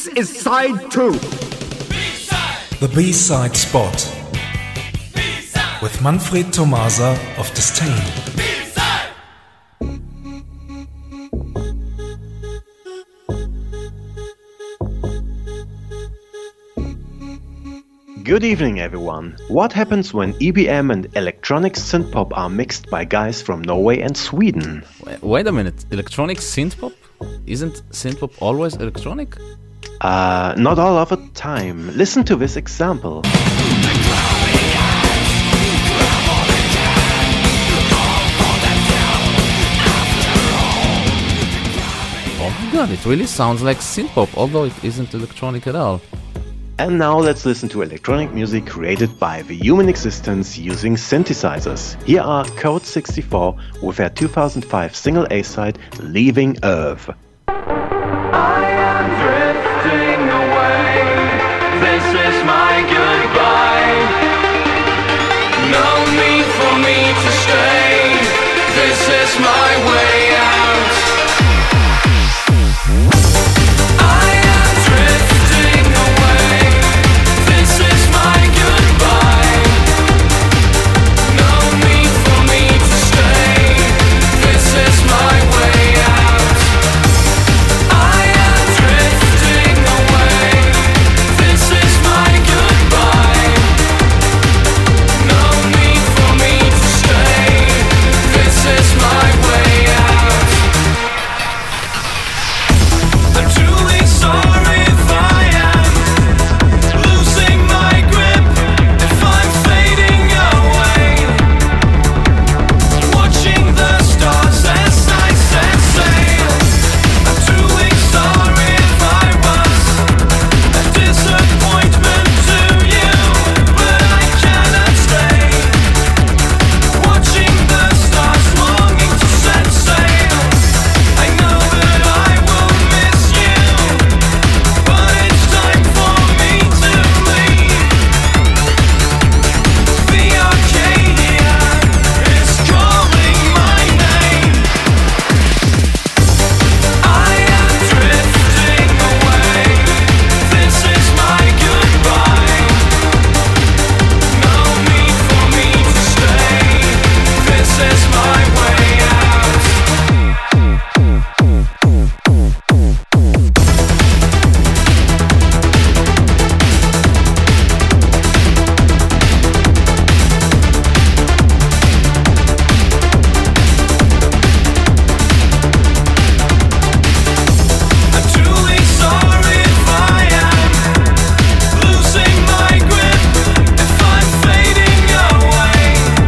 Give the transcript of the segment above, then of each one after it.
This is side 2. The B-side spot with Manfred Tomasa of Disdain. Good evening, everyone. What happens when EBM and electronic synthpop are mixed by guys from Norway and Sweden? Wait a minute, electronic synthpop? Isn't synthpop always electronic? Not all of the time. Listen to this example. Oh my god, it really sounds like synthpop, although it isn't electronic at all. And now let's listen to electronic music created by the human existence using synthesizers. Here are Code 64 with their 2005 single A-side, Leaving Earth. I am drifting away. This is my goodbye. No need for me to stay. This is my way out. I am drifting away. This is my goodbye. No need for me to stay. This is my way out. I am drifting away. This is my goodbye. No need for me to stay. This is my way out. I'm truly sorry if I am losing my grip, if I'm fading away. Watching the stars as I set sail. I'm truly sorry if I was a disappointment to you, but I cannot stay. Watching the stars, longing to set sail. I know that I will miss you, but it's time for me to leave. The Arcadia is calling my name. I am drifting away. This is my goodbye. No need for me to stay. This is my way out. I'm truly sorry if I am losing my grip, if I'm fading away.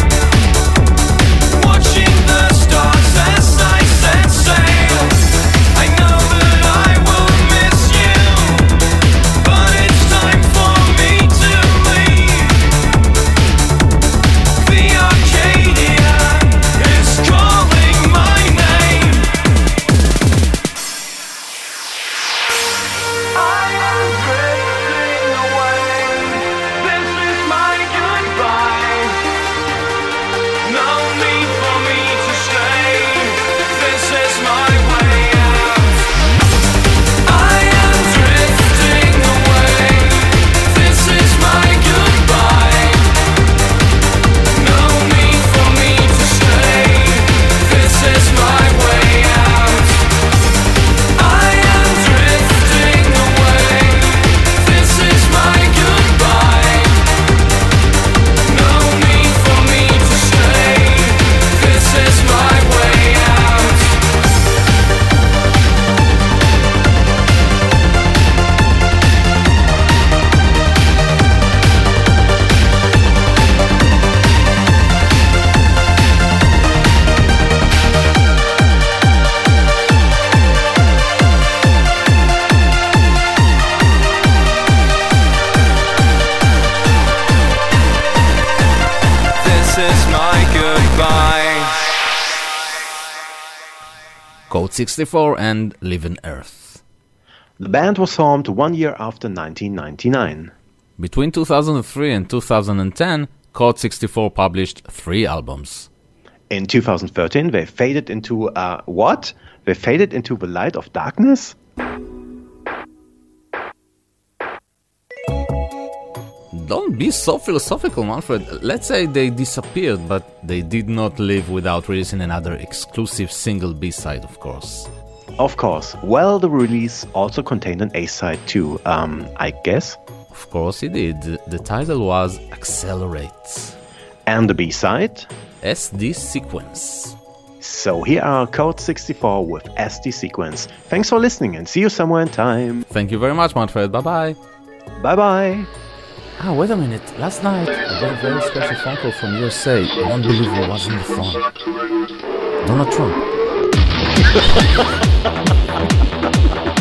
Watching the stars as I set sail. I know that I will miss you, but it's time for me to leave. The Arcadia is calling my name. I am drifting away. This is my goodbye. No need for me to stay. This is my way out. I am drifting away. This is my goodbye. No need for me to stay. This is my way out. I am drifting away. This is my goodbye. No need for me to stay. This is my way out. This is my goodbye. Code 64 and Leaving Earth. The band was formed 1 year after 1999. Between 2003 and 2010, Code 64 published 3 albums. In 2013, they faded into what? They faded into the light of darkness? Don't be so philosophical, Manfred. Let's say they disappeared, but they did not live without releasing another exclusive single B-side, of course. Of course. Well, the release also contained an A-side too, I guess. Of course it did. The title was Accelerate. And the B-side? SD Sequence. So here are Code 64 with SD Sequence. Thanks for listening and see you somewhere in time. Thank you very much, Manfred. Bye-bye. Bye-bye. Ah, wait a minute. Last night, I got a very special phone call from USA. You won't believe who was on the phone. Donald Trump.